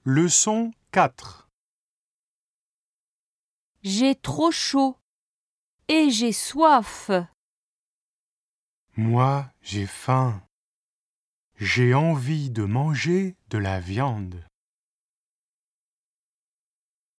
Leçon 4. J'ai trop chaud et j'ai soif. Moi, j'ai faim. J'ai envie de manger de la viande.